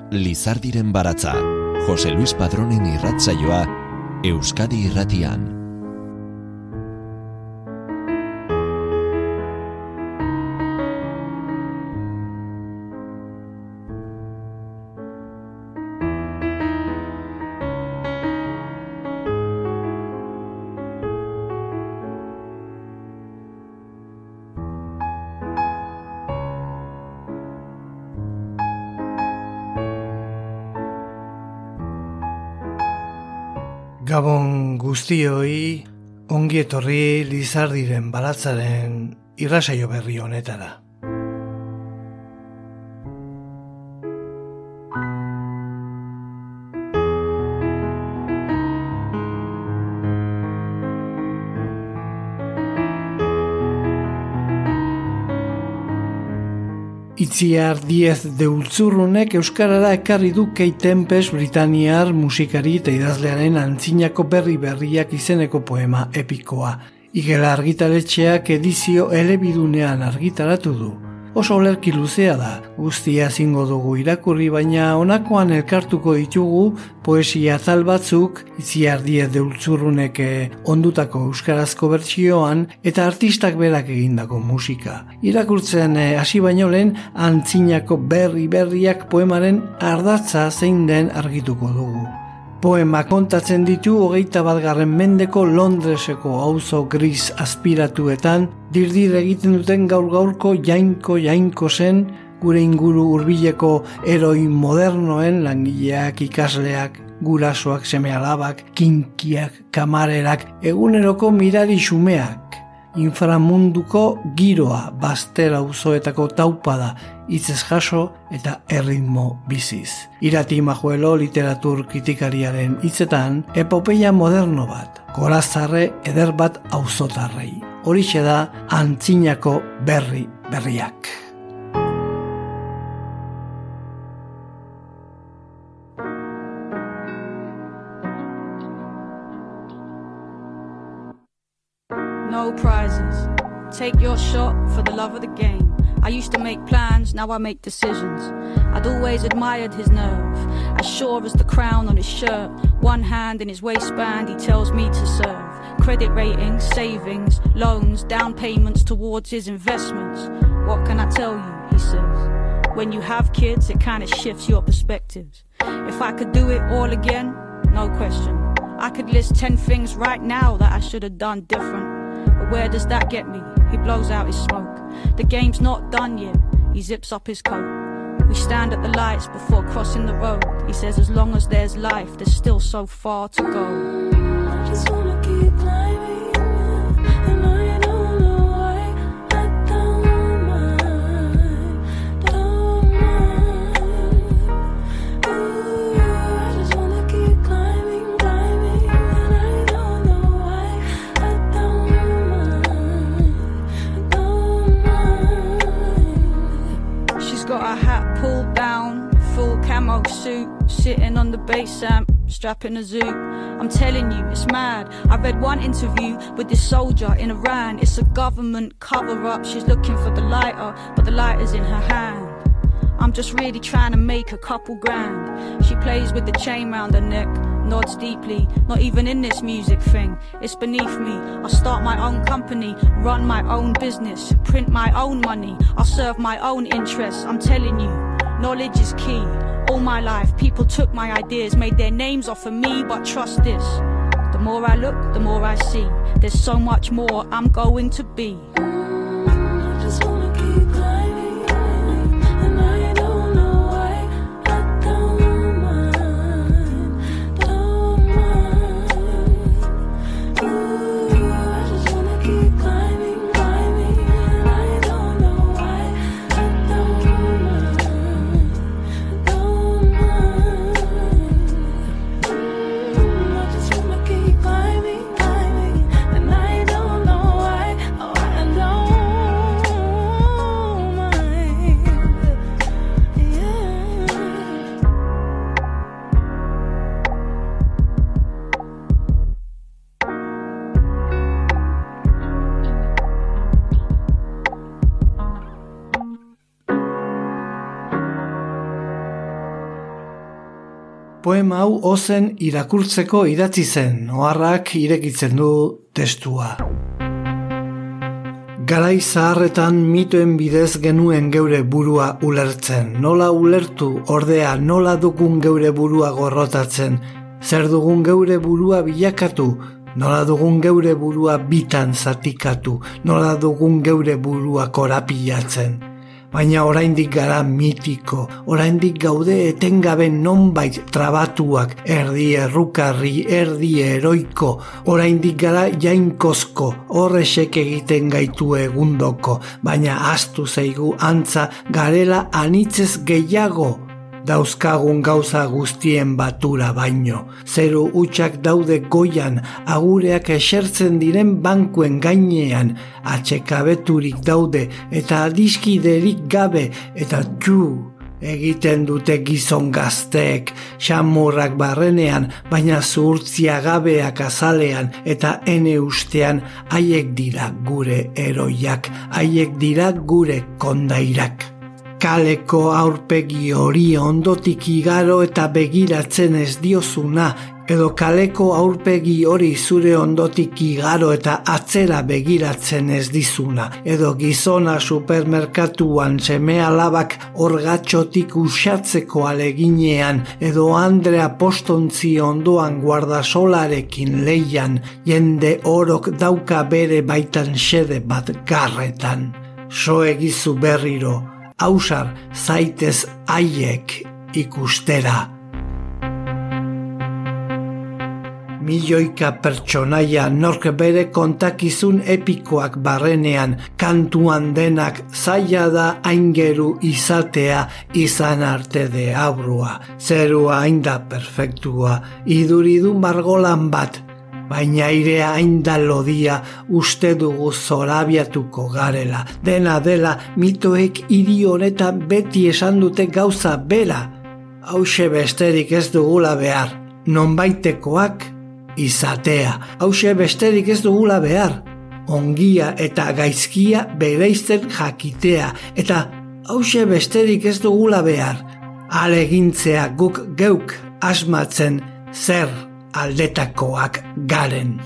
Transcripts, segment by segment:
Lizardiren baratza, Jose Luis Padronen irratsaioa, Euskadi Irratian. Gabon guztioi, ongi etorri Lizardiren baratzaren irratsaio berri honetara. Itziar Diez de Ultzurrunek euskarara ekarri du Kate Tempest britaniar musikari eta idazlearen antzinako berriak izeneko poema epikoa. Igela argitaletxeak edizio elebidunean argitaratu du. Oso olerki luzea da, guztia zingo dugu irakurri, baina honakoan elkartuko ditugu poesia atal batzuk, Itziar Diez de Ultzurrunek ondutako euskarazko bertsioan eta artistak berak egindako musika. Irakurtzen hasi baino lehen antzinako berriak poemaren ardatza zein den argituko dugu. Poema kontatzen ditu 21. mendeko Londreseko auzo gris aspiratuetan dirdir egiten duten gaur-gaurko jainko zen gure inguru hurbileko heroi modernoen langileak, ikasleak, gurasoak, seme-alabak, kinkiak, kamarerak, eguneroko mirari xumeak, inframunduko giroa, Bazter auzoetako taupada, hitzez jaso eta erritmo biziz. Irati Majuelo literatur kritikariaren hitzetan, epopeia moderno bat, gorazarre eder bat auzotarrei. Horixe da antzinako berriak. No prizes. Take your shot for the love of the game. I used to make plans, now I make decisions. I'd always admired his nerve, as sure as the crown on his shirt. One hand in his waistband, he tells me to serve. Credit ratings, savings, loans, down payments towards his investments. What can I tell you, he says. When you have kids, it kind of shifts your perspectives. If I could do it all again, no question. I could list 10 things right now that I should have done different. But where does that get me? He blows out his smoke. The game's not done yet. He zips up his coat. We stand at the lights before crossing the road. He says as long as there's life, there's still so far to go. I just wanna keep climbing, and I don't know why. I don't mind. Ooh, I just wanna keep climbing, and I don't know why. I don't mind. She's got her hat pulled down, full camo suit, sitting on the bass amp, strapping a zoot. I'm telling you, it's mad. I read one interview with this soldier in Iran. It's a government cover-up. She's looking for the lighter, but the lighter's in her hand. I'm just really trying to make a couple grand. She plays with the chain round her neck, nods deeply. Not even in this music thing, it's beneath me. I'll start my own company, run my own business, print my own money. I'll serve my own interests. I'm telling you, knowledge is key. All my life, people took my ideas, made their names off of me, but trust this. The more I look, the more I see. There's so much more I'm going to be. I just wanna keep climbing, and I don't know why. I don't mind. Ooh, I just wanna keep climbing, and I don't know why. I don't mind. I just wanna keep climbing, and I don't know why. Oh, I don't Poema hau ozen irakurtzeko idatzi zen, oharrak irekitzen du testua. Garai zaharretan mitoen bidez genuen geure burua ulertzen. Nola ulertu, ordea, nola dugun geure burua gorrotatzen. Zer dugun geure burua bilakatu, nola dugun geure burua bitan zatikatu, nola dugun geure burua korapilatzen. Baina oraindik gara mitiko, oraindik gaude etengabe nonbait trabatuak, erdi errukarri, erdi eroiko, oraindik gara jainkozko, horrexek egiten gaitu egundoko, baina ahaztu zaigu antza garela anitzez gehiago, dauzkagun gauza guztien batura baino. Zeru hutsak daude goian, agureak esertzen diren bankuen gainean, atsekabeturik daude eta adiskiderik gabe eta egiten dute gizon gazteek, xamurrak barrenean, baina zuhurtzia gabeak azalean eta ene ustean haiek dira gure eroiak, haiek dira gure kondairak. Kaleko aurpegi hori ondotik igaro eta begiratzen ez diozuna, edo kaleko aurpegi hori zure ondotik igaro eta atzera begiratzen ez dizuna, edo gizona supermerkatuan seme-alabak orgatxotik usatzeko aleginean, edo Andrea postontzi ondoan guardasolarekin leian, jende orok dauka bere baitan xede bat garretan. So egizu berriro, ausar zaitez haiek ikustera. Milioika pertsonaia nork bere kontakizun epikoak barrenean, kantuan denak zaila da aingeru izatea izan arte de abrua. Zerua ainda perfektua, iduridu margolan bat, baina airea ainda lodia uste dugu zorabiatuko garela. Dena dela mitoek hiri honetan beti esan dute gauza bera. Hauxe besterik ez dugula behar, nonbaitekoak izatea. Hauxe besterik ez dugula behar, ongia eta gaizkia bereizten jakitea. Eta hauxe besterik ez dugula behar, alegintzea guk geuk asmatzen zer aldetakoak garen.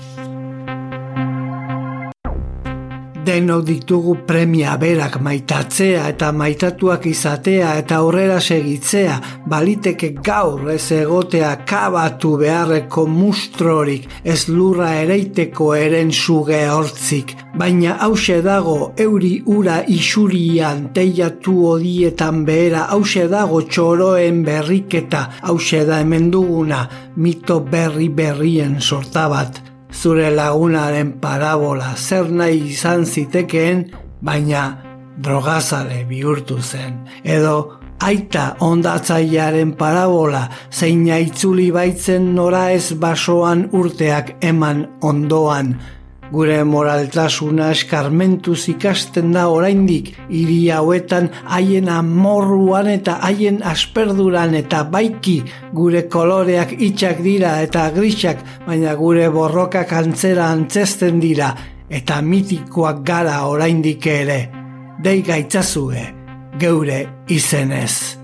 Denok ditugu premia berak maitatzea eta maitatuak izatea eta aurrera segitzea, baliteke gaur ez egotea kabatu beharreko mustrorik, ez lurra ereiteko eren suge hortzik, baina hause dago euri ura isurian teiatu odietan behera, hause dago txoroen berriketa, hause da hemen duguna mito berrien sorta bat. Zure lagunaren parabola zer nahi izan zitekeen, baina drogazale bihurtu zen. Edo aita ondatzailearen parabola zeina itzuli baitzen nora ez basoan urteak eman ondoan. Gure moraltasuna eskarmentuz ikasten da oraindik, hiri hauetan haien amorruan eta haien asperduran eta baiki gure koloreak itxak dira eta grisak, baina gure borrokak antzera antzesten dira eta mitikoak gara oraindik ere. Dei gaitzazue geure izenez.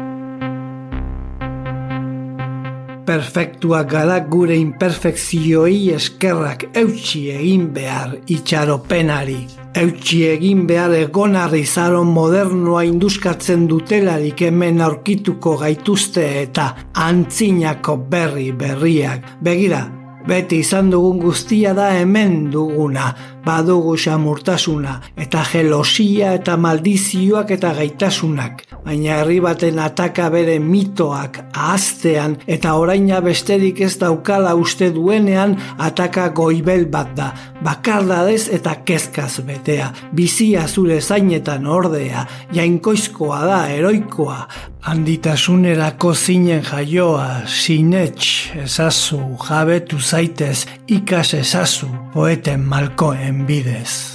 Perfektuak gara gure imperfekzioei eskerrak eutsi egin behar itxaropenari. Eutsi egin behar egonarri zaro modernoa induskatzen dutelarik hemen aurkituko gaituzte eta antzinako berriak. Begira, beti izan dugun guztia da hemen duguna, badugu xamurtasuna, eta jelosia eta maldizioak eta gaitasunak. Baina herri baten ataka bere mitoak ahaztean eta oraina besterik ez daukala uste duenean ataka goibel bat da, bakardadez eta kezkaz betea, bizia zure zainetan ordea, jainkoizkoa da, eroikoa, handitasunerako zinen jaioa, sinets ezazu, jabetu zaitez, ikas ezazu, poeten malkoen bidez.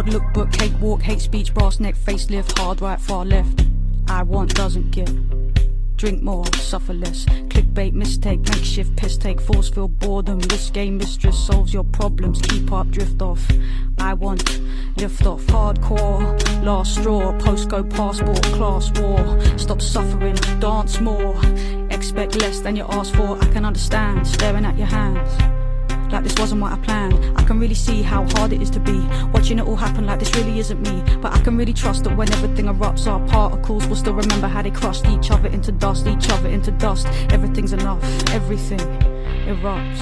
hard lookbook, cakewalk, hate speech, brass neck, facelift, hard right, far left. I want doesn't give. Drink more, suffer less. Clickbait, mistake, makeshift, piss take, force feel boredom. Risque mistress solves your problems. Keep up, drift off. I want lift off. Hardcore, last straw. Postcode, passport, class war. Stop suffering, dance more. Expect less than you ask for. I can understand, staring at your hands. Like this wasn't what I planned. I can really see how hard it is to be watching it all happen like this really isn't me. But I can really trust that when everything erupts, our particles will still remember how they crushed each other into dust, each other into dust. Everything's enough, everything erupts.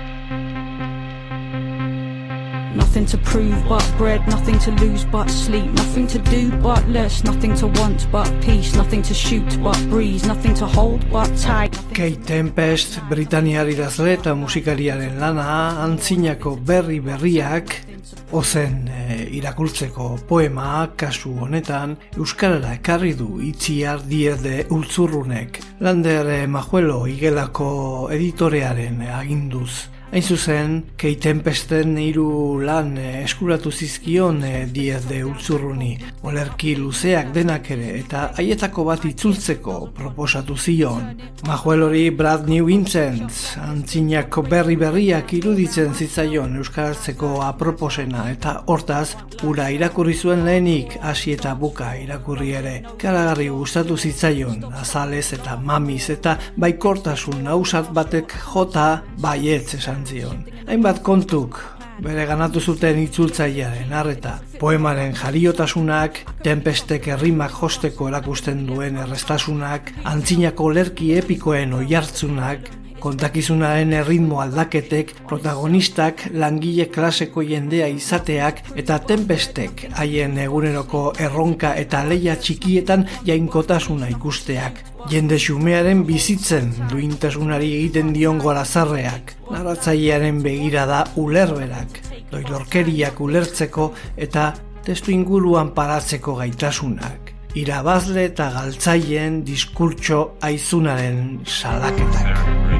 Nothing to prove but bread, nothing to lose but sleep, nothing to do but less, nothing to want but peace, nothing to shoot but breeze, nothing to hold but tight. Kate Tempest, Britaniar idazle eta musikariaren lana, antzinako berriak, ozen irakurtzeko poema, kasu honetan, euskarara ekarri du Itziar Diez de Ultzurrunek, Lander Majuelo igelako editorearen aginduz. Hain zuzen, Kate Tempesten 3 lan eskuratu zizkion Diez de Ultzurruni, olerki luzeak denak ere, eta haietako bat itzultzeko proposatu zion. Majuelori Brad New Vincent, antzinako berriak iruditzen zitzaion euskaratzeko aproposena, eta hortaz, ura irakurri zuen lehenik, hasi eta buka irakurri ere. Karagarri gustatu zitzaion, azalez eta mamiz, eta baikortasun ausart batek jota baietz esan zion. Hainbat kontuk bere ganatu zuten itzultzailearen arreta. Poemaren jariotasunak, Tempestek errimak josteko erakusten duen errestasunak, antzinako lerki epikoen oihartzunak, kontakizunaren erritmo aldaketek, protagonistak langile klaseko jendea izateak eta Tempestek haien eguneroko erronka eta leia txikietan jainkotasuna ikusteak. Jende xumearen bizitzen duintasunari egiten dion gorazarreak, narratzailearen begirada ulerberak, doilorkeriak ulertzeko eta testu inguruan paratzeko gaitasunak, irabazle eta galtzaileen diskurtso aizunaren salaketak.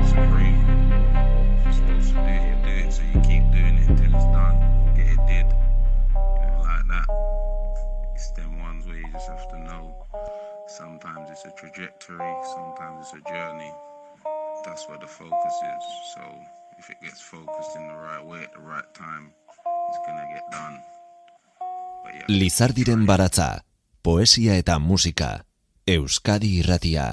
Sometimes it's a trajectory, sometimes it's a journey. That's where the focus is. So if it gets focused in the right way at the right time, it's gonna get done. Lizardiren baratza, poesia eta musika, Euskadi Irratia.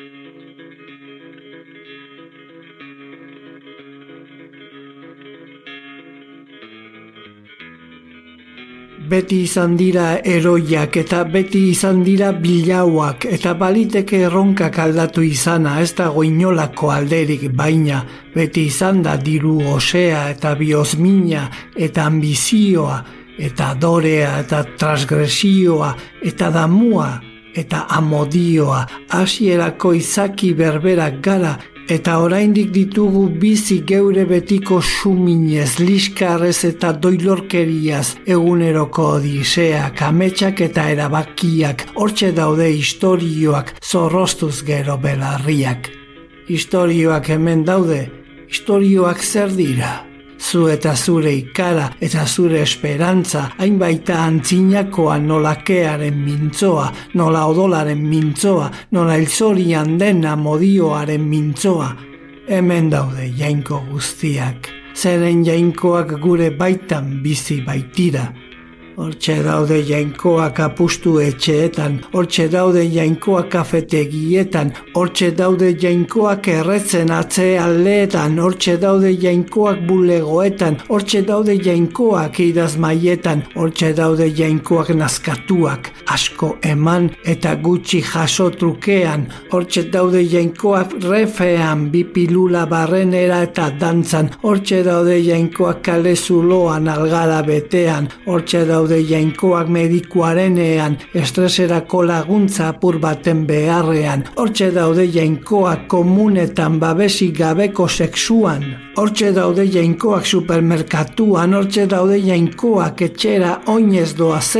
Beti izan dira eroiak eta beti izan dira bilauak eta baliteke erronkak aldatu izana, ez dago inolako alderik, baina beti izan da diru osea eta biozmina eta ambizioa eta adorea eta transgresioa eta damua eta amodioa, hasierako izaki berberak gara eta oraindik ditugu bizi geure betiko suminez, liskarrez eta doilorkeriaz, eguneroko odiseak, ametsak eta erabakiak, hortxe daude istorioak, zorroztuz gero belarriak. Istorioak hemen daude, istorioak zer dira? Zu eta zure ikara eta zure esperantza, hainbaita antzinakoa nolakearen mintzoa, nola odolaren mintzoa, nola ilzorian dena modioaren mintzoa. Hemen daude jainko guztiak, zeren jainkoak gure baitan bizi baitira. Hortxe daude jainkoak apustu etxeetan, hortxe daude jainkoak kafetegietan, hortxe daude jainkoak erretzen atzealdeetan, hortxe daude jainkoak bulegoetan, hortxe daude jainkoak idazmaietan, hortxe daude jainkoak nazkatuak, asko eman eta gutxi jaso trukean, hortxe daude jainkoak refean, bipilula barrenera eta dantzan, hortxe daude jainkoak kale zuloan algara betean, hortxe daude jainkoak medikuarenean, estreserako laguntza apur baten beharrean, hortxe daude jainkoak komunetan babesik gabeko sexuan, hortxe daude jainkoak supermerkatuan, hortxe daude jainkoak etxera oinez doazela,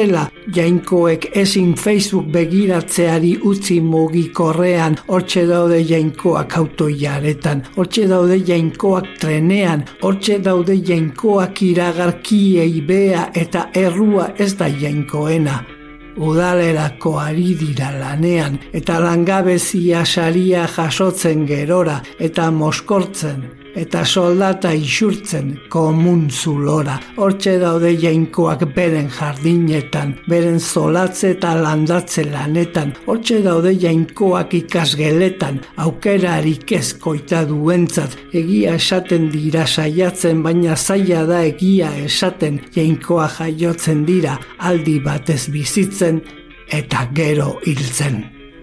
jainkoek ezin Facebook begiratzeari utzi mugikorrean, hortxe daude jainkoak autoiaretan, hortxe daude jainkoak trenean, hortxe daude jainkoak iragarkiei bea eta errua ez da jainkoena. Udalerako ari dira lanean, eta langabezia saria jasotzen gerora, eta moskortzen, eta soldata isurtzen komun zulora. Hortxe daude jainkoak beren jardinetan, beren zolatze eta landatze lanetan. Hortxe daude jainkoak ikasgeletan, aukerarik ez koita duentzat. Egia esaten dira saiatzen, baina zaila da egia esaten. Jainkoa jaiotzen dira, aldi batez bizitzen, eta gero hiltzen.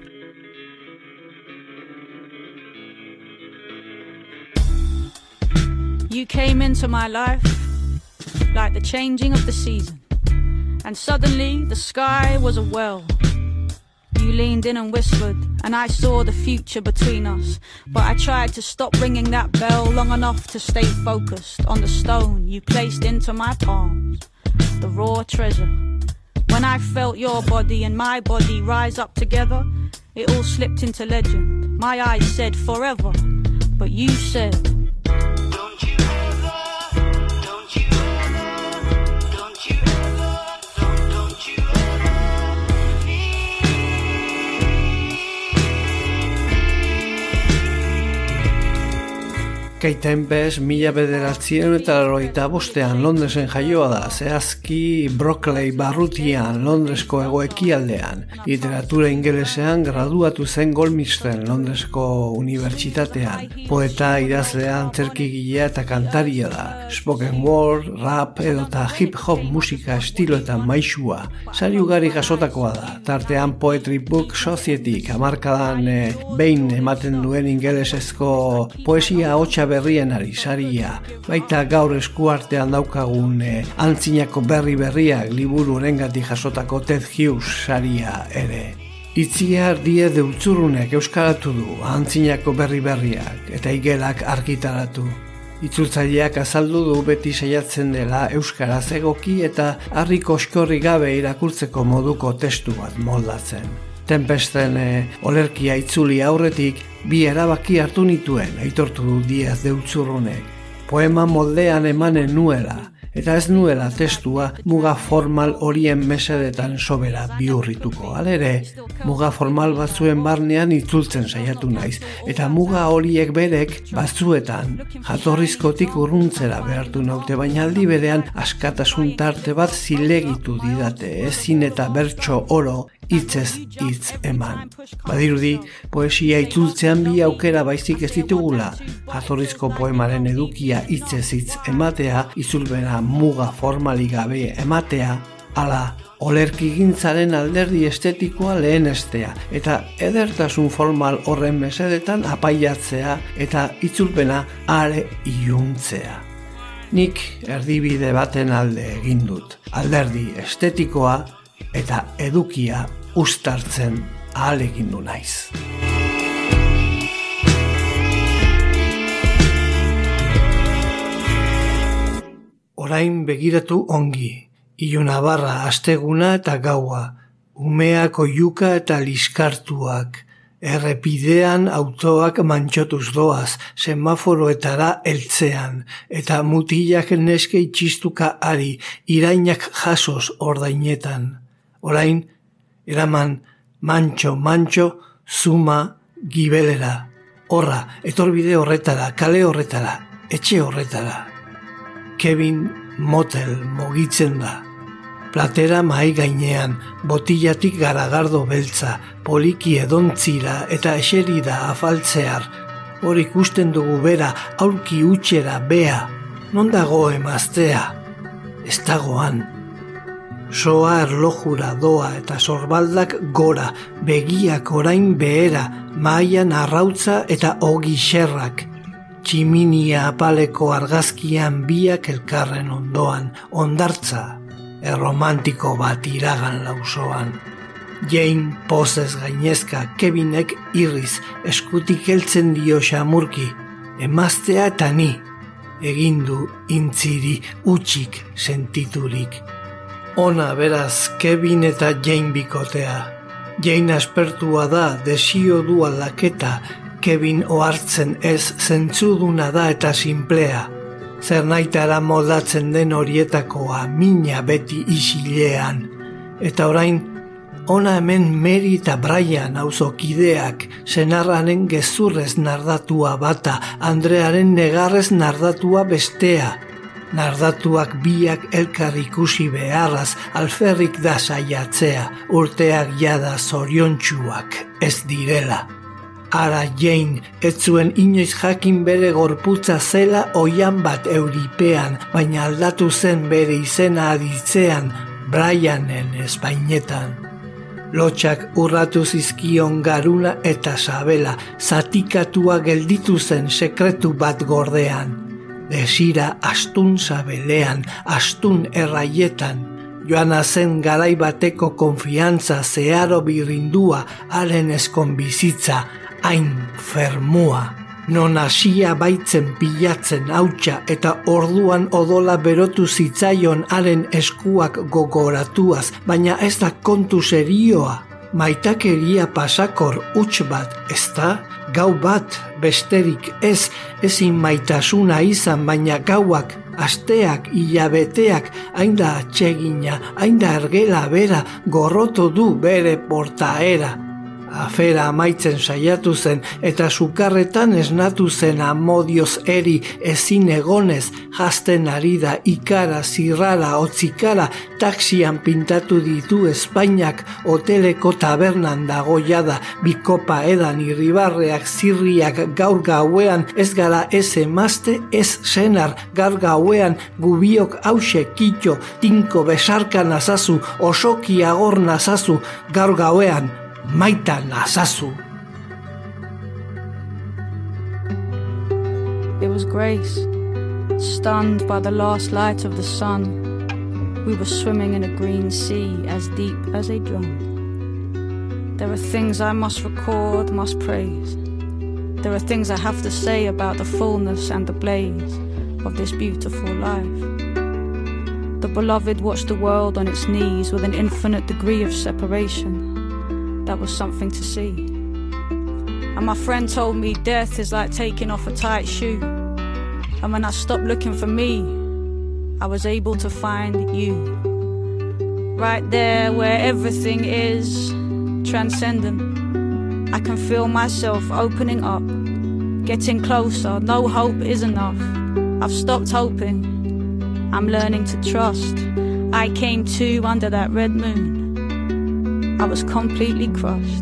You came into my life like the changing of the season, and suddenly the sky was a well. You leaned in and whispered, and I saw the future between us, but I tried to stop ringing that bell long enough to stay focused on the stone you placed into my palms, the raw treasure. When I felt your body and my body rise up together, it all slipped into legend. My eyes said forever, but you said, Kate Tempest 1985 Londresen jaioa da, zehazki Brockley barrutian, Londresko hego-ekialdean. Literatura ingelesean graduatu zen Goldsmithsen Londresko unibertsitatean. Poeta, idazlea, antzerkigilea eta kantaria da. Spoken word, rap edota hip-hop musika estiloetan maisua. Sari ugari jasotakoa da, tartean Poetry Book Society hamarkadan behin ematen duen ingelesezko poesia hotsa berrienari saria, baita gaur eskuartean daukagun antzinako berriak liburu horengatik jasotako Ted Hughes saria ere. Itziar Die de Utzurrunek euskaratu du antzinako berriak eta igelak argitaratu. Itzultzaileak azaldu du beti saiatzen dela euskaraz egoki eta harri koskorri gabe irakurtzeko moduko testu bat moldatzen. Tempesten olerkia itzuli aurretik bi erabaki hartu nituen, aitortu du Diez de Utzurrunek. Poema moldean emanen nuela, eta ez nuela testua muga formal horien mesedetan sobera bihurrituko. Halere, muga formal batzuen barnean itzultzen saiatu naiz, eta muga horiek berek batzuetan jatorrizkotik urruntzera behartu naute, baina aldi berean askatasun tarte bat zilegitu didate, ezin eta bertso oro hitzez hitz eman. Badirudi, poesia itzultzean bi aukera baizik ez ditugula, jatorrizko poemaren edukia hitzez hitz ematea, itzulbera muga formalik gabe ematea, ala olerkigintzaren alderdi estetikoa lehenestea, eta edertasun formal horren mesedetan apaiatzea eta itzulpena are iluntzea. Nik erdibide baten alde egin dut, alderdi estetikoa eta edukia uztartzen ahalegindu naiz. Orain begiratu ongi, ilunabarra asteguna eta gaua, umeak oihuka eta liskartuak, errepidean autoak mantxotuz doaz, semaforoetara heltzean, eta mutilak neske itxistuka ari, irainak jasoz ordainetan. Orain, eraman mantxo, zuma, gibelera. Horra, etorbide horretara, kale horretara, etxe horretara. Kevin motel mogitzen da. Platera mahai gainean, botillatik garagardo beltza, poliki edontzira eta eseri da afaltzear. Hor ikusten dugu bera, aurki utxera bea. Non dago emaztea? Ez dagoan. Soa erlojura doa eta sorbaldak gora, begiak orain behera, mahaian arrautza eta ogi xerrak. Tximinia apaleko argazkian biak elkarren ondoan, ondartza, erromantiko bat iragan lausoan. Jane pozez gainezka, Kevinek irriz, eskutik heltzen dio xamurki, emaztea eta ni, egindu intziri utxik sentiturik. Ona beraz Kevin eta Jane bikotea. Jane aspertua da, desio du aldaketa, Kevin ohartzen ez zentzuduna da eta sinplea. Zer nahitara moldatzen den horietakoa, mina beti isilean. Eta orain, ona hemen Mary eta Brian auzokideak, senarraren gezurrez nardatua bata, Andrearen negarrez nardatua bestea. Nardatuak biak elkar ikusi beharraz, alferrik da saiatzea, urteak jada zoriontsuak ez direla. Ara Jane ez zuen inoiz jakin bere gorputza zela oian bat euripean, baina aldatu zen bere izena aditzean, Brianen espainetan. Lotxak urratu zizkion Garuna eta Sabela, zatikatua gelditu zen sekretu bat gordean. Desira astun sabelean, astun erraietan, joana zen garai bateko konfiantza zeharo birrindua, haren eskonbizitza, hain fermua. Non hasia baitzen pilatzen hautsa eta orduan odola berotu zitzaion haren eskuak gogoratuaz, baina ez da kontu serioa. Maitakeria pasakor huts bat, ezta? Gau bat, besterik ez, ezin maitasuna izan, baina gauak, asteak, hilabeteak, hain da atsegina, hain da ergela bera, gorroto du bere portaera. Afera amaitzen saiatu zen eta sukarretan esnatu zen amodioz eri ezin egonez, jazten ari da ikara, zirrara, otzikara, taxian pintatu ditu Espainiak, hoteleko tabernan dago jada, bikopa edan irribarreak, zirriak gaur gauean, ez gara ez emazte, ez senar, gaur gauean gubiok hause kitxo, tinko besarka nazazu, osoki agor nazazu, gaur gauean, maita nazazu. It was Grace, stunned by the last light of the sun. We were swimming in a green sea as deep as a drum. There are things I must record, must praise. There are things I have to say about the fullness and the blaze of this beautiful life. The beloved watched the world on its knees with an infinite degree of separation. That was something to see. And my friend told me death is like taking off a tight shoe. And when I stopped looking for me, I was able to find you. Right there where everything is transcendent. I can feel myself opening up, getting closer. No hope is enough. I've stopped hoping. I'm learning to trust. I came to under that red moon. I was completely crushed.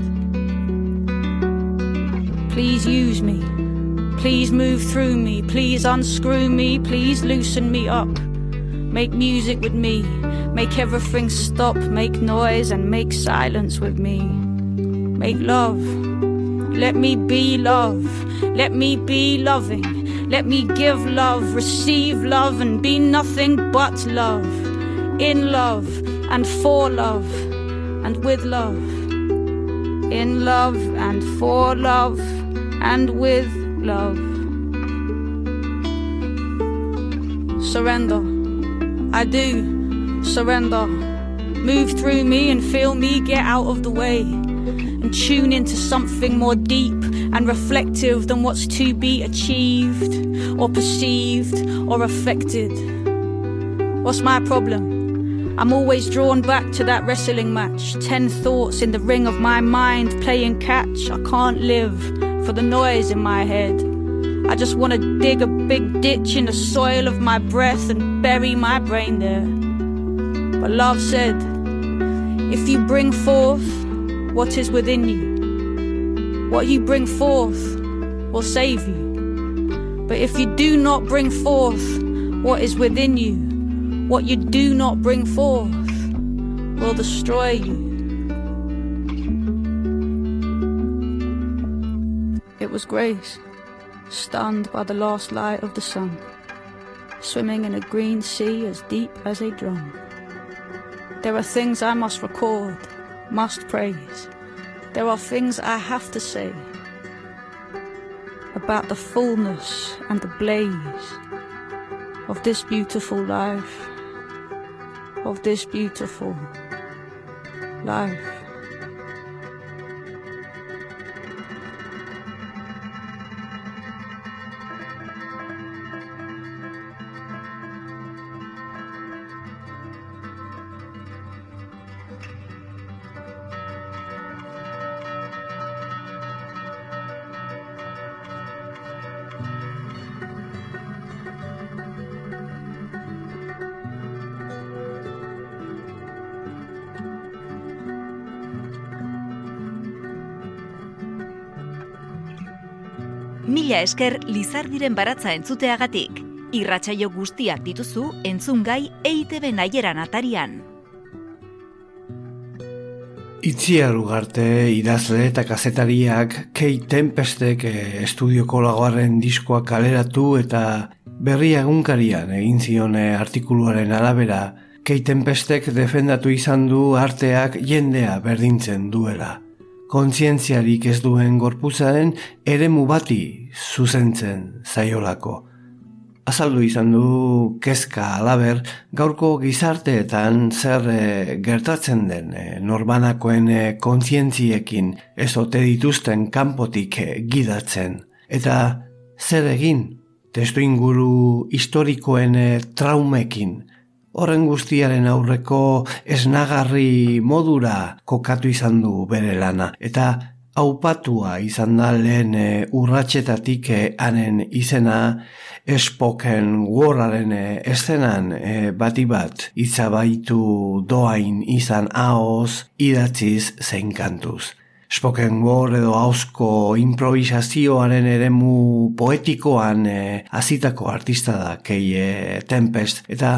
Please use me. Please move through me. Please unscrew me. Please loosen me up. Make music with me. Make everything stop. Make noise and make silence with me. Make love. Let me be love. Let me be loving. Let me give love, receive love, and be nothing but love. In love and for love. And with love, in love and for love, and with love. Surrender, I do surrender. Move through me and feel me get out of the way, and tune into something more deep and reflective than what's to be achieved, or perceived, or affected. What's my problem? I'm always drawn back to that wrestling match. 10 thoughts in the ring of my mind playing catch. I can't live for the noise in my head. I just want to dig a big ditch in the soil of my breath and bury my brain there. But love said, if you bring forth what is within you, what you bring forth will save you. But if you do not bring forth what is within you, what you do not bring forth will destroy you. It was Grace, stunned by the last light of the sun, swimming in a green sea as deep as a drum. There are things I must record, must praise. There are things I have to say about the fullness and the blaze of this beautiful life. of this beautiful life. Mila esker Lizardiren baratza entzuteagatik. Irratsaio guztiak dituzu entzungai EITB Naieran atarian. Itziar Ugarte idazle eta kazetariak Kate Tempestek estudioko lagoaren diskoa kaleratu eta Berria egunkarian egin zion artikuluaren arabera, Kate Tempestek defendatu izan du arteak jendea berdintzen duela. Kontzientziarik ez duen gorputzaren eremu bati zuzentzen zaiolako. Azaldu izan du kezka halaber gaurko gizarteetan zer gertatzen den norbanakoen kontzientziekin ez ote dituzten kanpotik gidatzen. Eta zer egin testuinguru historikoen traumekin. Horren guztiaren aurreko esnagarri modura kokatu izan du bere lana, eta aupatua izan da lehen urratsetatik hanen izena Spoken Wordaren eszenan bati bat itzabaitu doain izan ahoz, idatziz zein kantuz. Spoken Word edo ahozko improvisazioaren eremu poetikoan hasitako artista da Kate Tempest, eta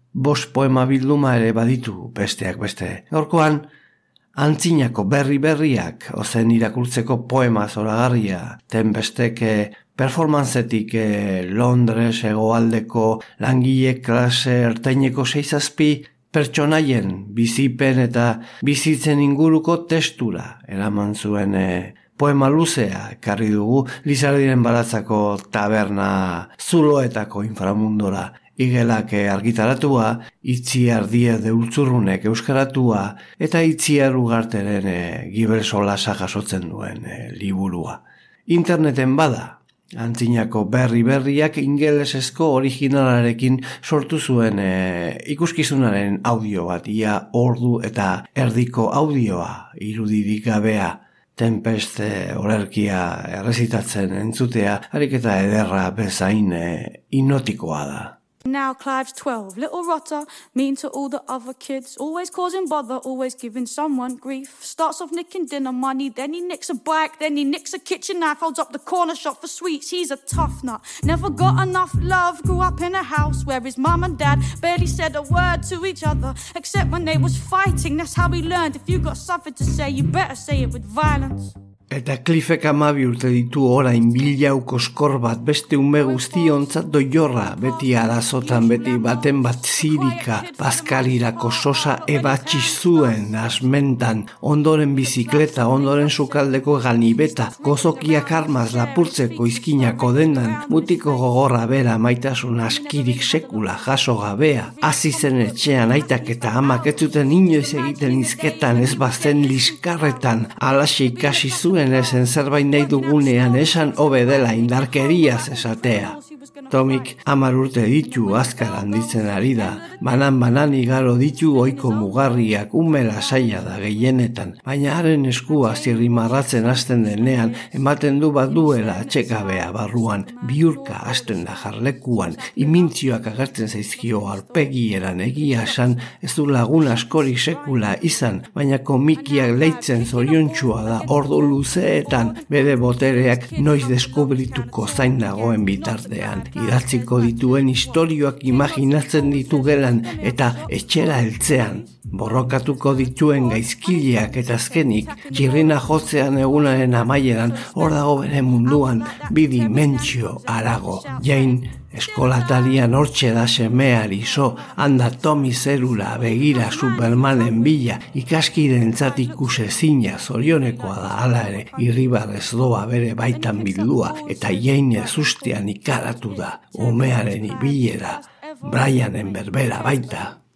5 poema bilduma ere baditu besteak beste. Gaurkoan, antzinako berriak ozen irakurtzeko poema zoragarria. Tempestek performancetik Londres hegoaldeko langile klase ertaineko 6-7 pertsonaien bizipen eta bizitzen inguruko testura eraman zuen poema luzea ekarri dugu Lizardiren baratzako taberna zuloetako inframundora. Igelak argitaratua, Itziar Diez de Ultzurrunek euskaratua eta Itziar Ugarteren Gibel Solasa jasotzen duen liburua. Interneten bada, antzinako berriak ingelesezko originalarekin sortu zuen ikuskizunaren audio bat, ia ordu eta erdiko audioa irudirik gabea. Tempest olerkia errezitatzen entzutea, harik eta ederra bezain hipnotikoa da. Now Clive's 12, little rotter, mean to all the other kids, always causing bother, always giving someone grief. Starts off nicking dinner money, then he nicks a bike, then he nicks a kitchen knife, holds up the corner shop for sweets. He's a tough nut, never got enough love, grew up in a house where his mum and dad barely said a word to each other, except when they was fighting. That's how he learned, if you got something to say, you better say it with violence. Eta Cliffek 12 urte ditu orain bilauko skor bat beste ume guztiontzat doiorra, beti arazotan, beti baten bat zirika, bazkalirako sosa ebatsi zuen asmentan, ondoren bizikleta, ondoren sukaldeko ganibeta, gozokiak armaz lapurtzeko izkinako dendan, mutiko gogorra bera maitasun askirik sekula jaso gabea, hasi zen etxean aitak eta amak ez zuten inoiz egiten izketan ez bazen liskarretan, alaxe ikasi zuen ezen zerbait nahi dugunean esan hobe dela indarkeriaz esatea. Tomik 10 urte ditu azkar handitzen ari da, banan igaro ditu ohiko mugarriak umela saia da gehienetan, baina haren eskua zirrimarratzen hasten denean ematen du bat duela atxekabea barruan, biurka hasten da jarlekuan, imintzioak agertzen zaizkio aurpegieran egia esan ez du lagun askori sekula izan, baina komikiak leitzen zoriontsua da ordu luzeetan bere botereak noiz deskubrituko zain dagoen bitartean. Idatziko dituen istorioak imaginatzen ditu gelan eta etxera heltzean. Borrokatuko dituen gaizkileak eta azkenik, txirrina jotzean egunaren amaieran hor dago bere munduan bi dimentsio harago. Jain eskolatarian hortxe da semeari so, handa Tomi zerura begira Supermanen bila, ikaskirentzat ikusezina zorionekoa da hala ere, irribarrez doa bere baitan bildua, eta Jaine zustean ikaratu da, umearen ibilera, Brianen berbera baita.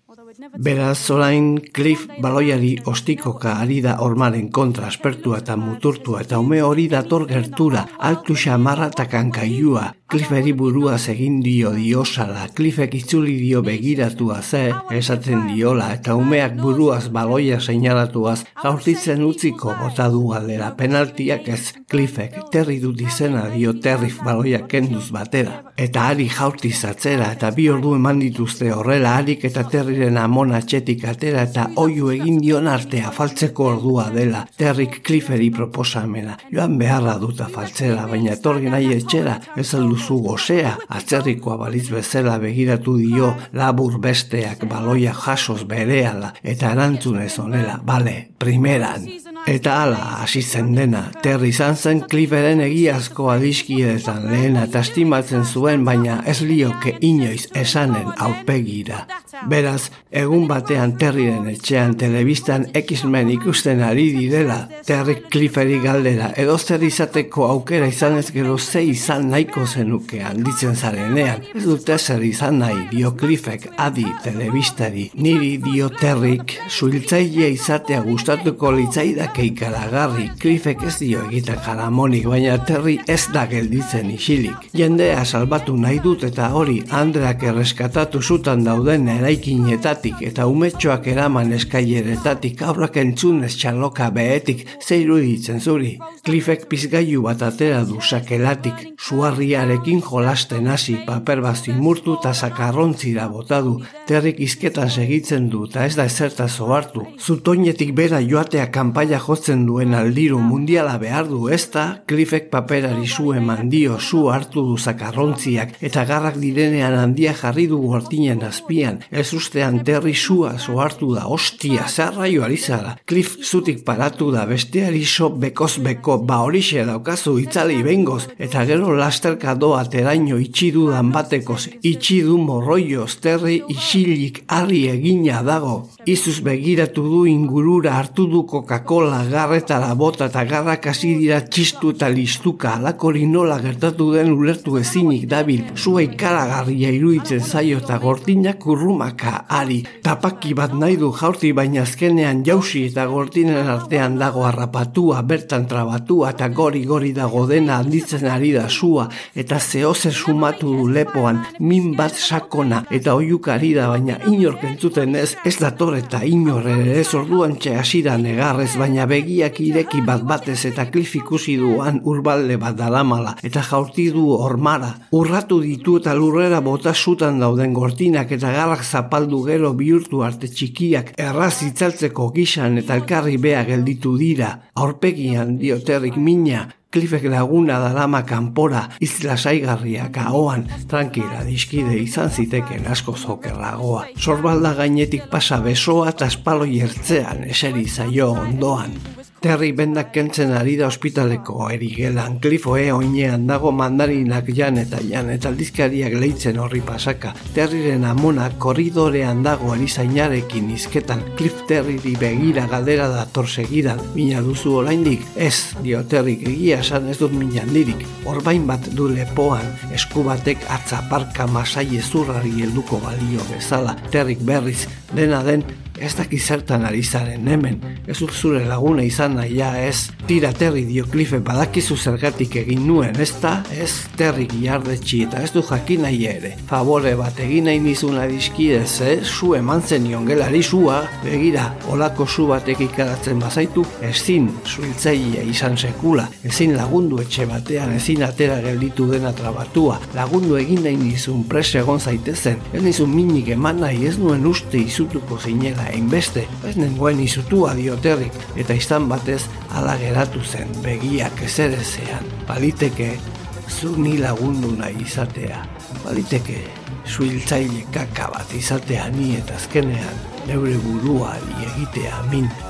Beraz, orain Cliff baloiari ostikoka ari da hormaren kontra aspertua eta muturtua eta ume hori dator gertura, altu xamarra eta kankailua. Clifferi buruaz egin dio diosala, Cliffek itzuli dio begiratua esaten diola, eta umeak buruaz baloia seinalatuaz jaurtitzen utziko bota du galdera. Penaltiak ez, Cliffek Terry dut izena dio Terry baloia kenduz batera. Eta Ari jaurtiz atzera, eta 2 ordu eman dituzte horrela Arik eta Terryren amona atxetik atera, eta oiu egin dion artea faltzeko ordua dela. Terryk Clifferi proposamena, joan beharra duta faltzera, baina etorri nahi etxera, ez alduzu gozea, atzerrikoa baliz bezala begiratu dio labur besteak baloia jasoz berehala, eta erantzunez honela, bale, primeran. Eta hala, hasi zen dena, Terry izan zen Clifferen egiazko adiskidetan lehena eta estimatzen zuen, baina ez lioke inoiz esanen aurpegira. Beraz, egun batean Terryren etxean telebistan X-Men ikusten ari direla, Terry Clifferi galdera, edo zer izateko aukera izan ez gero ze izan nahiko zenuke handitzen zarenean. Ez dute zer izan nahi, dio Cliffek Adi telebistari, niri dio Terryk, suhiltzaile izatea gustatuko litzaidake ikaragarri. Cliffek ez dio egiten jaramonik, baina Terry ez da gelditzen isilik. Jendea salbatu nahi dut eta hori Andreak erreskatatu zutan dauden eraikinetatik eta umetxoak eraman eskaileretatik aurrak entzunez txaloka behetik zeiru ditzen zuri. Cliffek pizgailu bat atera du sakelatik, suarriarekin jolasten hasi, paper bat zimurtu eta sakarrontzira bota du. Terryk izketan segitzen du eta ez da ezertaz ohartu. Zutoinetik bera joatea kanpaia jotzen duen aldiru mundiala behar du, ezta? Cliffek paperari zu eman dio, zu hartu du zakarrontziak eta garrak direnean handia jarri du gortinen azpian. Ez ustean Terry zua hartu da, ostia, zarraio ari zara. Cliff zutik paratu da, besteari so bekoz beko, ba horixe daukazu itzali bengoz, eta gero lasterka doa teraino itxidudan batekoz, itxidu morroioz, Terry isilik harri egina dago. Izuz begiratu du ingurura, hartu du Coca-Cola garretara bota eta garrak hasi dira txistu eta listuka, alakori nola gertatu den ulertu ezinik dabil, zua ikaragarria iruditzen zaio eta gortinak urrumaka ari. Tapaki bat nahi du jaurti, baina azkenean jausi eta gortinen artean dago harrapatua, bertan trabatua eta gori dago dena handitzen ari da zua, eta zehozer sumatu du lepoan, min bat sakona eta oiukari da, baina inork entzuten ez dator eta inor ere ez orduan hasi da negarrez, baina begiak ireki bat batez eta Cliff ikusi duan urbalde bat dalamala eta jaurti du hormara. Urratu ditu eta lurrera bota zutan dauden gortinak eta garrak zapaldu gero bihurtu arte txikiak erraz itzaltzeko gisan eta elkarri bea gelditu dira. Aurpegian dio Terryk mina, Cliffek laguna darama kanpora, izlasaigarriak ahoan, tranquila diskide izan ziteken asko zokerragoa. Sorbalda gainetik pasa besoa eta espaloi ertzean eseri zaio ondoan. Terry bendak kentzen ari da ospitaleko erigelan, Cliff oinean dago mandarinak jan eta aldizkariak leitzen horri pasaka. Terryren amona korridorean dago erizainarekin izketan, Cliff Terryri begira galdera dator segidan. Mina duzu oraindik? Ez, dio Terryk, egia esan ez dut min handirik. Orbain bat du lepoan, esku batek atzaparka masai ezurrari helduko balio bezala. Terryk berriz, dena den, ez dakiz zertan ari zaren hemen, ez zure laguna izan nahia ez. Tira Terry dio Cliffe, badakizu zergatik egin nuen, ez da? Ez, Terry giardetxi eta ez du jakin nahi ere. Favore bat egin nahi nizun adiskidez, zu eman zenion gelari zua, begira, olako zu batek ikaratzen bazaitu, ezin suhiltzailea izan sekula, ezin lagundu etxe batean, ezin atera gelditu dena trabatua, lagundu egin nahi nizun prese egon zaitezen, ez nizun minik eman nahi, ez nuen uste izutuko zinela hainbeste, ez nengoen izutua dio Terryk, eta izan batez ala geratu zen begiak ezerezean. Baliteke zu ni lagundu nahi izatea, baliteke suhiltzaile kaka bat izatea ni eta azkenean neure buruari egitea min.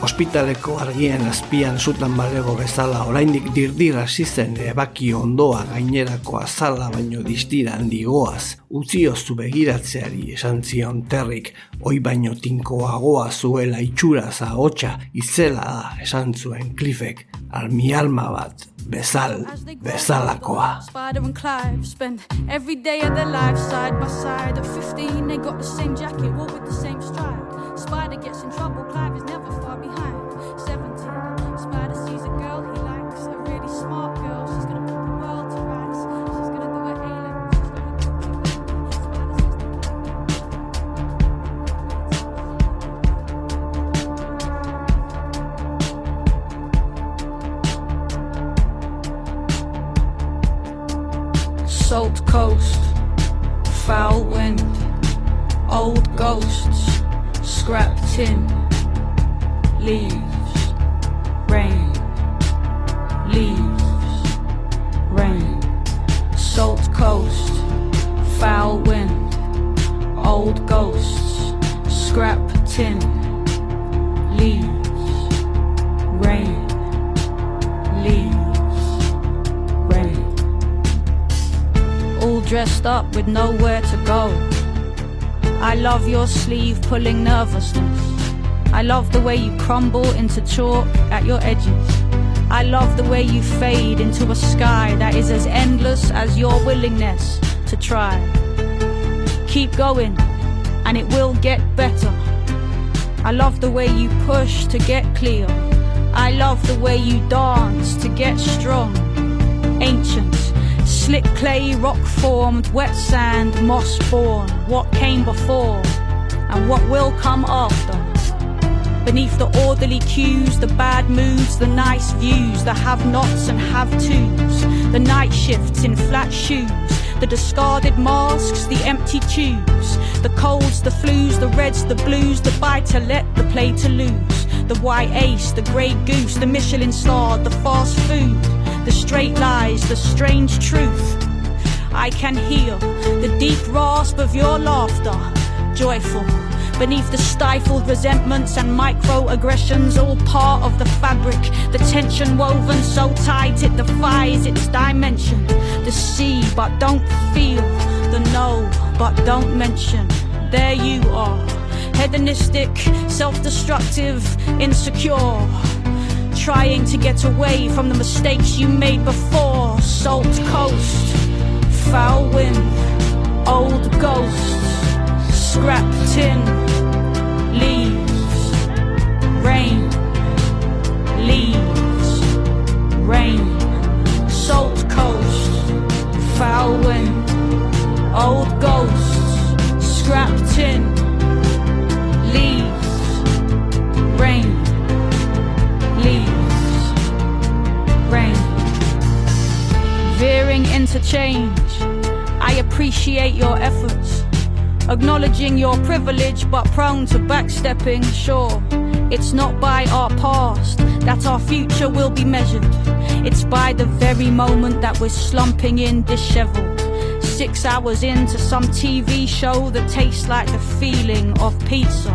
Ospitaleko argien azpian zutan balego bezala oraindik dirdir hasi zen ebaki ondoa gainerako azala baino distira handigoaz, utzioztu begiratzeari esan zion Terrik, oi baino tinkoagoa zuela itxuraz ahotsa itzela da esan zuen Cliffek, almi alma bat bezalakoa. Spider and Clive spend every day of their lives side by side. At 15 they got the same jacket, all with the same stride. Spider gets in trouble, Clive is never far behind. 17, Spider sees a girl he likes, a really smart girl. She's gonna put the world to rights. She's gonna do her A-levels. Salt coast, foul wind, old ghosts, scrap tin, leaves, rain, leaves, rain. Salt coast, foul wind, old ghosts, scrap tin, leaves, rain, leaves, rain. All dressed up with nowhere to go. I love your sleeve pulling nervousness. I love the way you crumble into chalk at your edges. I love the way you fade into a sky that is as endless as your willingness to try. Keep going, and it will get better. I love the way you push to get clear. I love the way you dance to get strong. Ancient, slick clay, rock-formed, wet sand, moss-born. What came before, and what will come after. Beneath the orderly cues, the bad moods, the nice views, the have-nots and have-tos, the night shifts in flat shoes, the discarded masks, the empty tubes, the colds, the flus, the reds, the blues, the buy-to-let, the play-to-lose, the white ace, the grey goose, the Michelin star, the fast food, the straight lies, the strange truth. I can hear the deep rasp of your laughter, joyful, beneath the stifled resentments and microaggressions, all part of the fabric, the tension woven so tight it defies its dimension. The see but don't feel, the know but don't mention. There you are, hedonistic, self-destructive, insecure, trying to get away from the mistakes you made before. Salt coast, foul wind, old ghosts, scrap tin, leaves, rain, leaves, rain. Salt coast, foul wind, old ghosts, scrap tin, leaves, rain, leaves, rain. Veering into change, I appreciate your efforts, acknowledging your privilege but prone to backstepping. Sure, it's not by our past that our future will be measured. It's by the very moment that we're slumping in disheveled, 6 hours into some TV show that tastes like the feeling of pizza.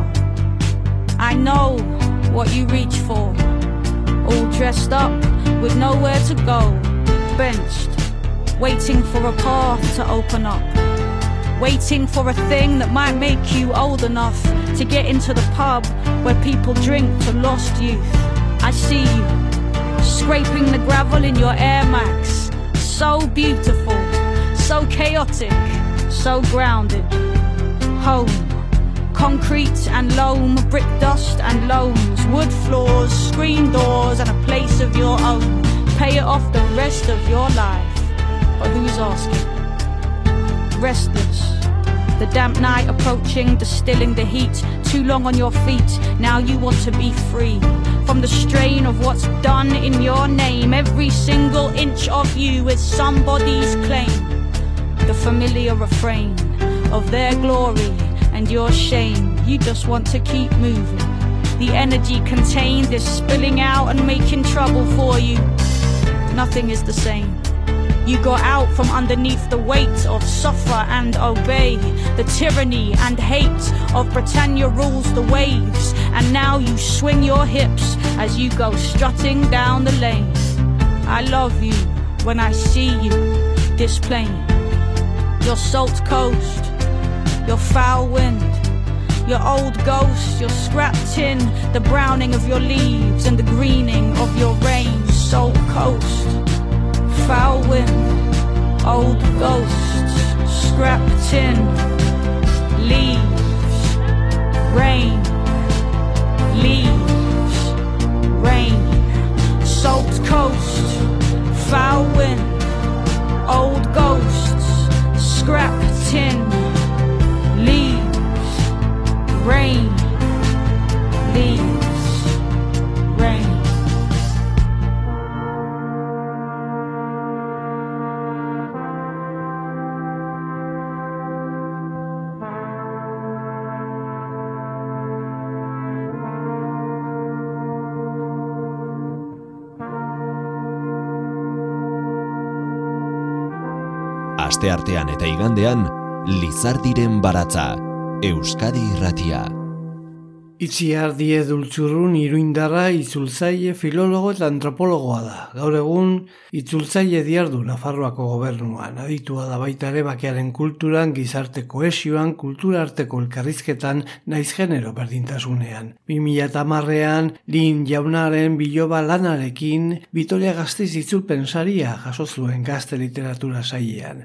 I know what you reach for, all dressed up with nowhere to go, benched, waiting for a path to open up, waiting for a thing that might make you old enough to get into the pub where people drink to lost youth. I see you, scraping the gravel in your Air Max, so beautiful, so chaotic, so grounded. Home, concrete and loam, brick dust and loams, wood floors, screen doors and a place of your own. Pay it off the rest of your life, but who's asking? Restless, the damp night approaching, distilling the heat, too long on your feet, now you want to be free from the strain of what's done in your name. Every single inch of you is somebody's claim, the familiar refrain of their glory and your shame. You just want to keep moving, the energy contained is spilling out and making trouble for you. Nothing is the same. You got out from underneath the weight of suffer and obey, the tyranny and hate of Britannia rules the waves, and now you swing your hips as you go strutting down the lane. I love you when I see you, this plain, your salt coast, your foul wind, your old ghost, your scrap tin, the browning of your leaves and the greening of your rain. Salt coast, foul wind, old ghosts, scrap tin, leaves, rain, leaves, rain. Salt coast, foul wind, old ghosts, scrap tin, leaves, rain, leaves, rain. Asteartean eta igandean, Lizardiren baratza, Euskadi Irratia. Itziar Diez Ultzurrun iruindarra itzultzaile, filologo eta antropologoa da. Gaur egun itzultzaile diardu Nafarroako gobernuan. Aditua da baita ere bakearen kulturan, gizarte kohesioan, kultura arteko elkarrizketan, naiz genero berdintasunean. 2010ean Lin Jaunaren biloba lanarekin Vitoria Gasteiz itzulpen saria jaso zuen gazte literatura sailean.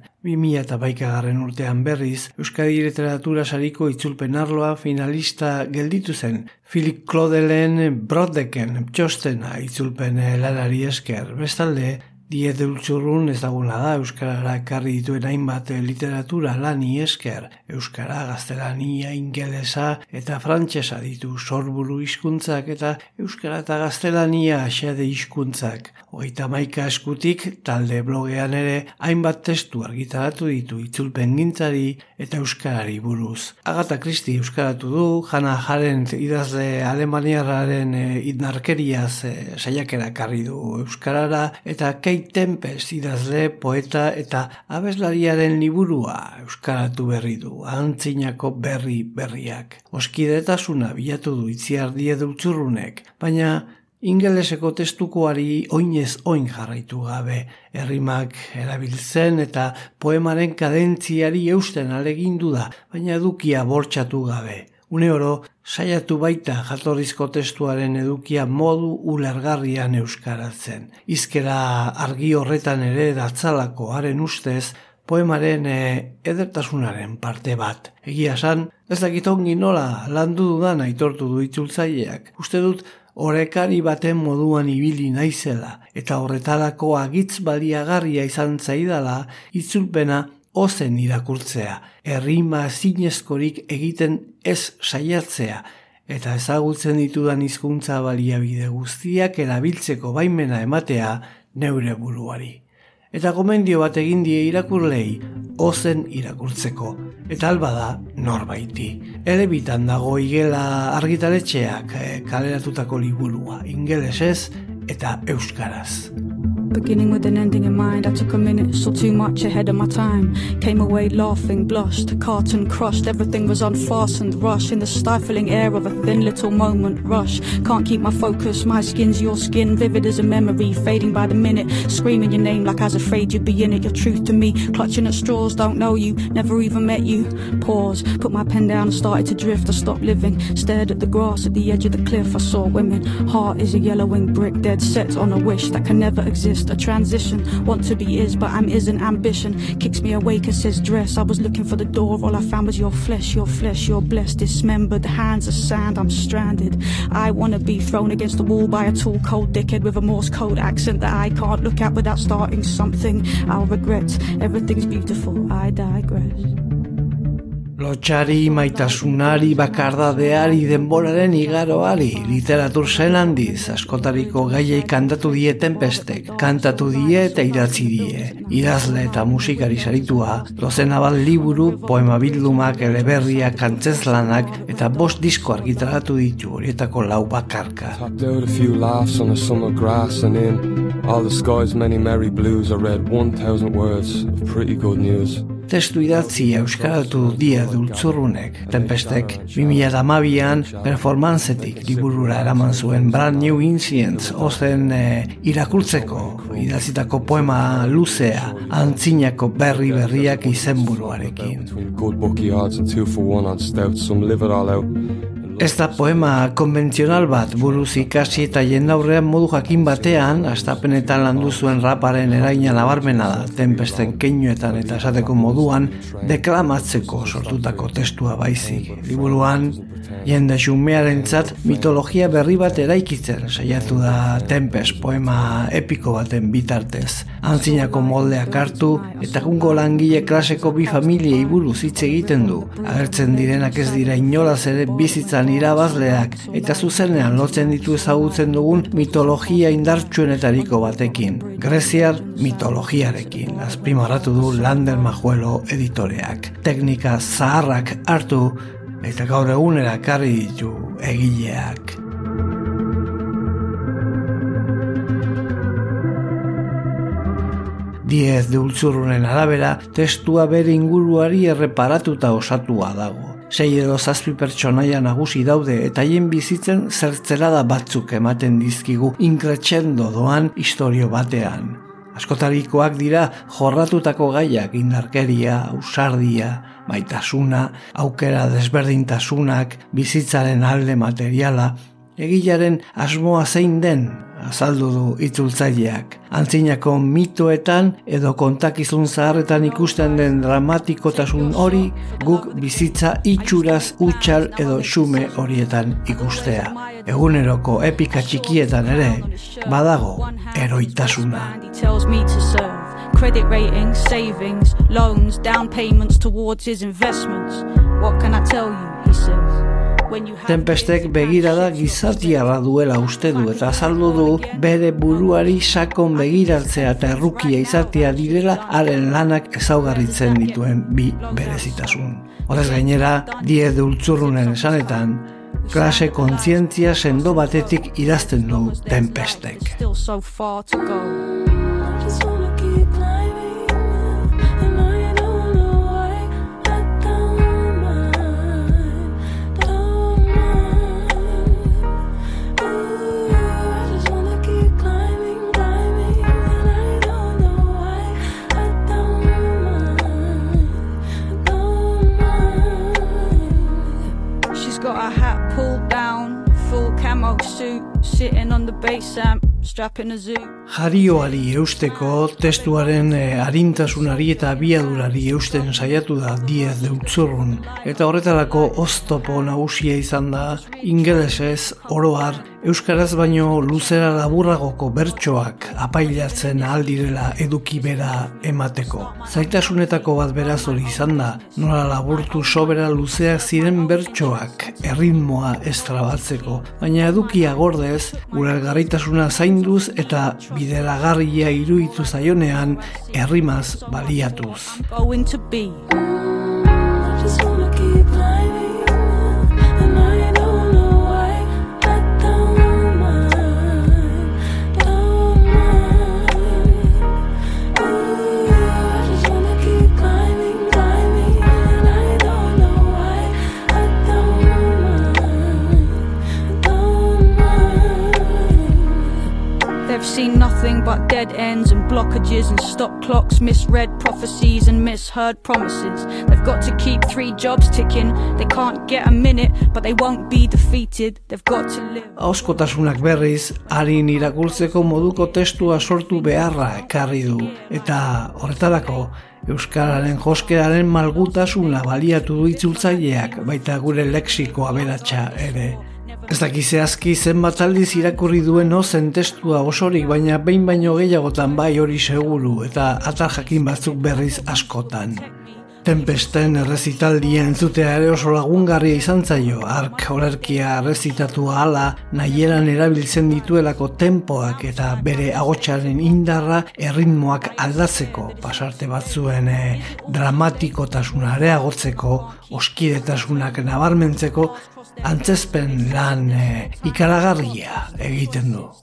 2011 urtean berriz, Euskadi Literatura sariko itzulpen arloa finalista gelditu zen. Philip Claudelen Brodeken txostena itzulpen lanari esker. Bestalde, Diez Ultzurrun ezaguna da euskarara ekarri dituen hainbat literatura lani esker. Euskara, gaztelania, ingelesa eta frantsesa ditu sorburu hizkuntzak eta euskara eta gaztelania xede hizkuntzak. 31 eskutik talde blogean ere hainbat testu argitaratu ditu itzulpengintzari eta euskarari buruz. Agatha Christie euskaratu du, Hannah Arendt idazle alemaniarraren idnarkeriaz saiakera ekarri du euskarara eta Kate Tempest idazle, poeta eta abeslariaren liburua euskaratu berri du, antzinako berriak. Oskidetasuna bilatu du Itziar Diez Ultzurrunek, baina ingeleseko testukoari oinez oin jarraitu gabe, errimak erabiltzen eta poemaren kadentziari eusten alegindu da, baina edukia bortxatu gabe. Une oro, saiatu baita jatorrizko testuaren edukia modu ulergarrian euskaratzen. Hizkera argi horretan ere datzalako haren ustez, poemaren edertasunaren parte bat. Egia esan, ez dakit ongi nola landu dudan aitortu du itzultzaileak. Uste dut, orekari baten moduan ibili naizela, eta horretarako agitz baliagarria izan zaidala itzulpena ozen irakurtzea, errima zinezkorik egiten ez saiatzea, eta ezagutzen ditudan hizkuntza baliabide guztiak erabiltzeko baimena ematea neure buruari. Eta gomendio bat egin die irakurlei ozen irakurtzeko, eta alba da norbaiti. Elebitan dago Igela argitaletxeak kaleratutako liburua, ingelesez eta euskaraz. Beginning with an ending in mind, I took a minute, saw too much ahead of my time. Came away laughing, blushed, carton crushed, everything was unfastened, rush in the stifling air of a thin little moment, rush. Can't keep my focus, my skin's your skin, vivid as a memory, fading by the minute, screaming your name like I was afraid you'd be in it, your truth to me, clutching at straws, don't know you, never even met you. Pause, put my pen down and started to drift, I stopped living, stared at the grass at the edge of the cliff, I saw women, heart is a yellowing brick, dead set on a wish that can never exist. A transition, want to be is, but I'm isn't. Ambition kicks me awake and says dress. I was looking for the door, all I found was your flesh, you're blessed, dismembered, hands of sand, I'm stranded. I wanna be thrown against the wall by a tall cold dickhead with a Morse code accent that I can't look at without starting something I'll regret. Everything's beautiful, I digress. Lotxari, maitasunari, bakardadeari, denboraren igaroari, literatur zen handiz, askotariko gaiei kantatu die Tempestek, kantatu die eta idatzi die. Idazle eta musikari saritua, dozena bat liburu, poema bildumak, eleberriak, antzezlanak eta 5 disko argitaratu ditu, horietako 4 bakarka. Tapped out a few laughs on the summer grass, and in all the sky's many merry blues I read 1,000 words of pretty good news. Testu idatzi euskaratu die Dultzurrunek. Tempestek 2012an performancetik liburura eraman zuen Brand New Incidents ozen irakurtzeko idatzitako poema luzea antzinako berriak izenburuarekin. Good bookie odds and 2 for 1 on stout, some live it all out. Ez da poema konbentzional bat, buruz ikasi eta jendaurrean modu jakin batean, astapenetan landu zuen raparen eraina nabarmena da, Tempesten keinuetan eta esateko moduan, deklamatzeko sortutako testua baizik. Liburuan, jende xumearentzat mitologia berri bat eraikitzen saiatu da Tempest poema epiko baten bitartez. Antzinako moldeak hartu eta egungo langile klaseko 2 familiei buruz hitz egiten du. Agertzen direnak ez dira inolaz ere bizitzan irabazleak eta zuzenean lotzen ditu ezagutzen dugun mitologia indartsuenetariko batekin, greziar mitologiarekin, azpimarratu du Lander Majuelo editoreak. Teknika zaharrak hartu eta gaur egunera ekarri ditu egileak. Diez Dultzurrunen arabera, testua bere inguruari erreparatuta osatua dago. 6 edo 7 pertsonaia nagusi daude eta haien bizitzen zertzelada batzuk ematen dizkigu inkretxendo doan istorio batean. Askotarikoak dira jorratutako gaiak, indarkeria, ausardia, maitasuna, aukera desberdintasunak, bizitzaren alde materiala, egilaren asmoa zein den, azaldu du itzultzaileak. Antzinako mitoetan edo kontakizun zaharretan ikusten den dramatikotasun hori guk bizitza itxuraz utxal edo xume horietan ikustea. Eguneroko epika txikietan ere badago eroitasuna. Credit ratings, savings, loans, down payments towards his investments. What can I tell you, he says. Tempestek begirada gizatiarra duela uste du eta azaldu du bere buruari sakon begiratzea eta errukia izatea direla haren lanak ezaugarritzen dituen 2 berezitasun. Horrez gainera, Diez Dultzurrunen esanetan, klase kontzientzia sendo batetik idazten du Tempestek. Got a hat pulled down, full camo suit, sitting on the bass amp, strapping a zoo. Jarioari eusteko, testuaren arintasunari eta abiadurari eusten saiatu da Diez Dultzurrun, eta horretarako oztopo nagusia izan da ingelesez oroar euskaraz baino luzera laburragoko bertsoak apailatzen aldirela eduki bera emateko. Zaitasunetako bat beraz hori izan da, nola laburtu sobera luzeak ziren bertsoak erritmoa estrabatzeko, baina edukia gordez, ulergarritasuna zainduz eta bideragarria iruditu zaionean errimaz baliatuz. Seen nothing but dead ends and blockages and stop clocks, misread prophecies and misheard promises. They've got to keep 3 jobs ticking. They can't get a minute, but they won't be defeated. They've got to live. Auskotasunak berriz, harin irakurtzeko moduko testua sortu beharra ekarri du. Eta horretarako, euskararen joskeraren malgutasuna baliatu du itzultzaileak, baita gure lexiko aberatsa ere. Ez dakizehazki zenbat aldiz irakurri duen ozen testua osorik, baina baino gehiagotan bai hori seguru eta atar jakin batzuk berriz askotan. Tempesten errezitaldia entzutea ere oso lagungarria izan zaio, hark olerkia errezitatu ahala nahieran erabiltzen dituelako tempoak eta bere ahotsaren indarra erritmoak aldatzeko, pasarte batzuen dramatikotasuna areagotzeko, oskidetasunak nabarmentzeko, antzezpen lan ikaragarria egiten du.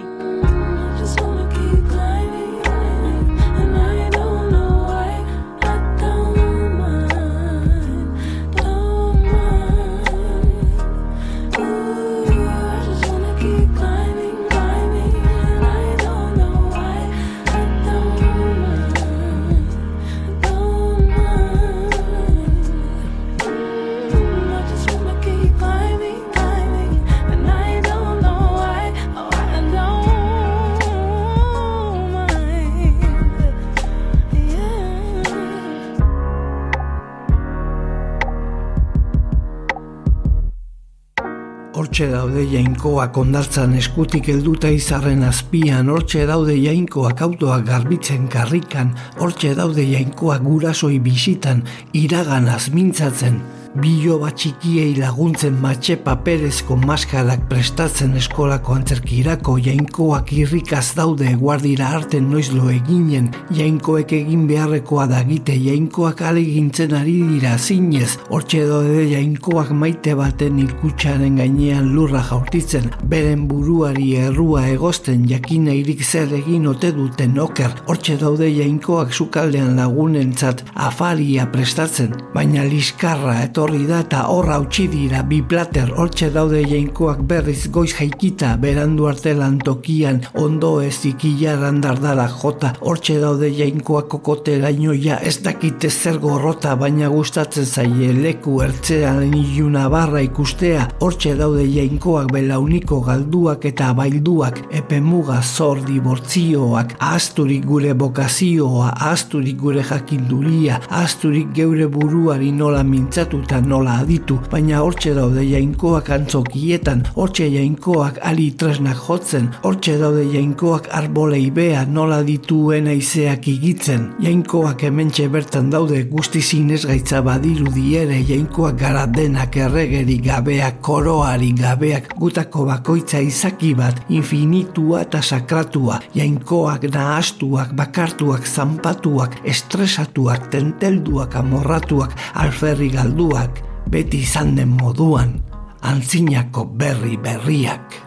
Hortxe daude jainkoak hondartzan eskutik helduta izarren azpian, hortxe daude jainkoak autoak garbitzen karrikan, hortxe daude jainkoak gurasoi bisitan, iraganaz mintzatzen, biloba txikiei laguntzen matxe paperezko maskarak prestatzen eskolako antzerkirako, jainkoak irrikaz daude guardira arten noizlo eginen, jainkoek egin beharrekoa dagite, jainkoak alegintzen ari dira zinez, hortxe daude jainkoak maite baten ikutsaren gainean lurra jaurtitzen, beren buruari errua egozten, jakinairik zer egin ote duten oker, hortxe daude jainkoak sukaldean lagunentzat afaria prestatzen, baina liskarra etorri da eta horra utzi dira bi plater, hortxe daude jainkoak berriz goiz jaikita, berandu arte lantokian, ondo ez ikilaran dardara jota, hortxe daude jainkoak kokoteraino ja ez dakite zer gorrota, baina gustatzen zaie leku ertzean iluna barra ikustea, hortxe daude jainkoak belauniko galduak eta bailduak, epemuga zor dibortzioak, ahazturik gure bokazioa, ahazturik gure jakinduria, ahazturik geure buruari nola mintzatuta nola aditu, baina hortxe daude jainkoak antzokietan, hortxe jainkoak ali tresnak jotzen, hortxe daude jainkoak arbolei bea nola dituen aizeak igitzen, jainkoak hementxe bertan daude guzti zinez gaitza badirudi ere, jainkoak gara denak erregeri gabeak, koroari gabeak, gutako bakoitza izaki bat, infinitua eta sakratua, jainkoak nahastuak, bakartuak, zanpatuak, estresatuak, tentelduak, amorratuak, alferri galduak, beti izan den moduan, antzinako berri berriak.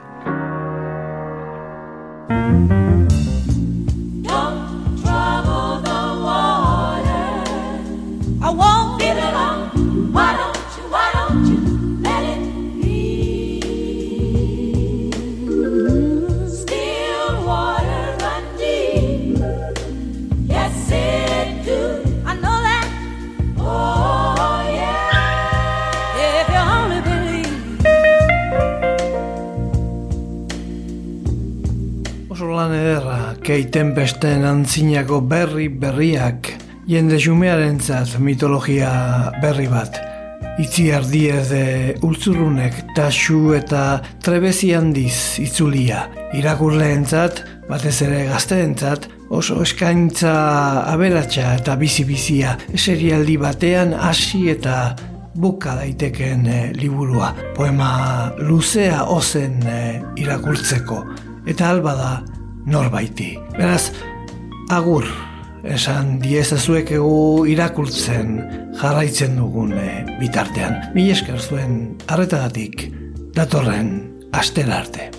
Lan ederra, Kate Tempesten antzinako berri berriak, jende xumearentzat mitologia berri bat. Itziar Diez Ultzurrunek taxu eta trebezi handiz itzulia. Irakurleentzat, batez ere gazteentzat, oso eskaintza aberatsa eta bizi-bizia, serialdi batean hasi eta buka daiteken liburua. Poema luzea ozen irakurtzeko, eta alba da norbaiti. Beraz, agur, esan diezazuek egu irakurtzen jarraitzen dugun bitartean. Mila esker zuen arretagatik datorren astera arte.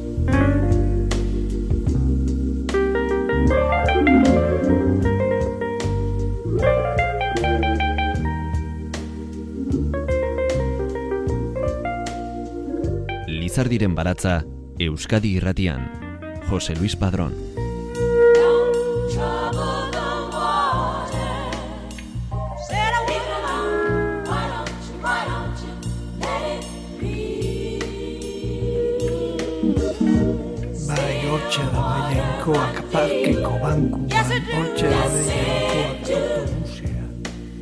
Lizardiren baratza Euskadi Irratian. José Luis Padrón. Bai, hortxe da jainkoak parkeko bankuan, hortxe da jainkoak autobusean.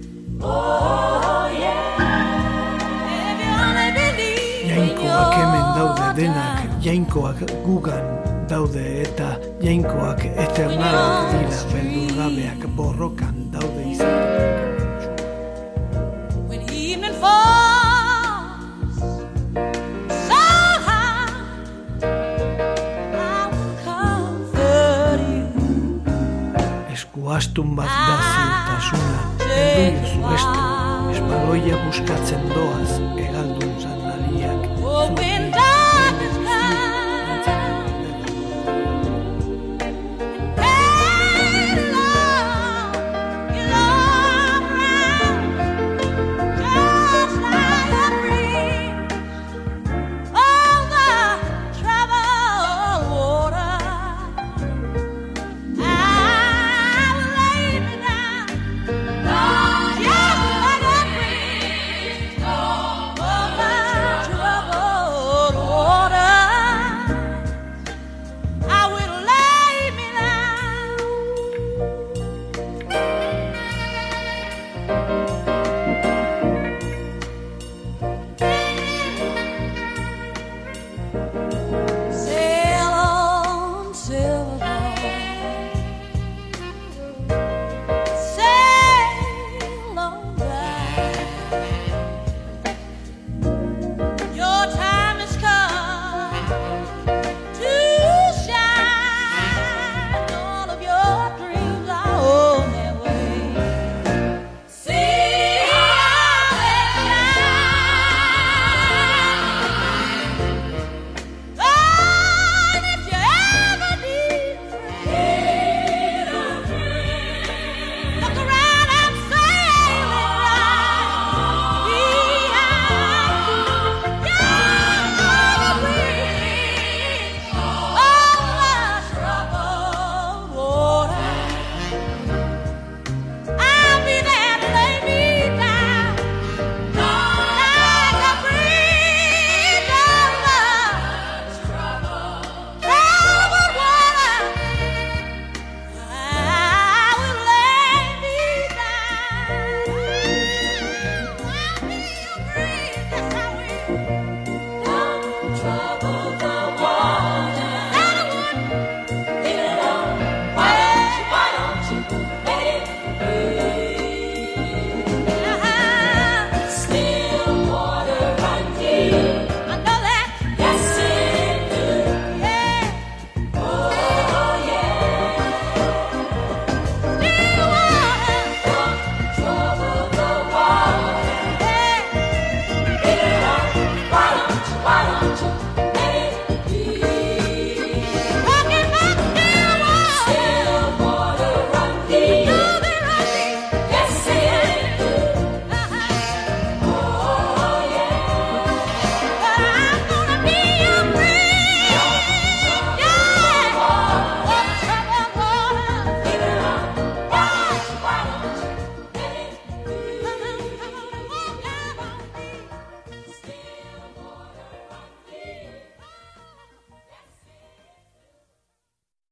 Jainkoak hemen daude denak, jainkoak gugan daude eta jainkoak eternalak dira, beldurgabeak borrokan daude izateko. eskuastun bat da ziurtasuna, heldu jozu beste, espaloia buskatzen doaz, egaldun zandali.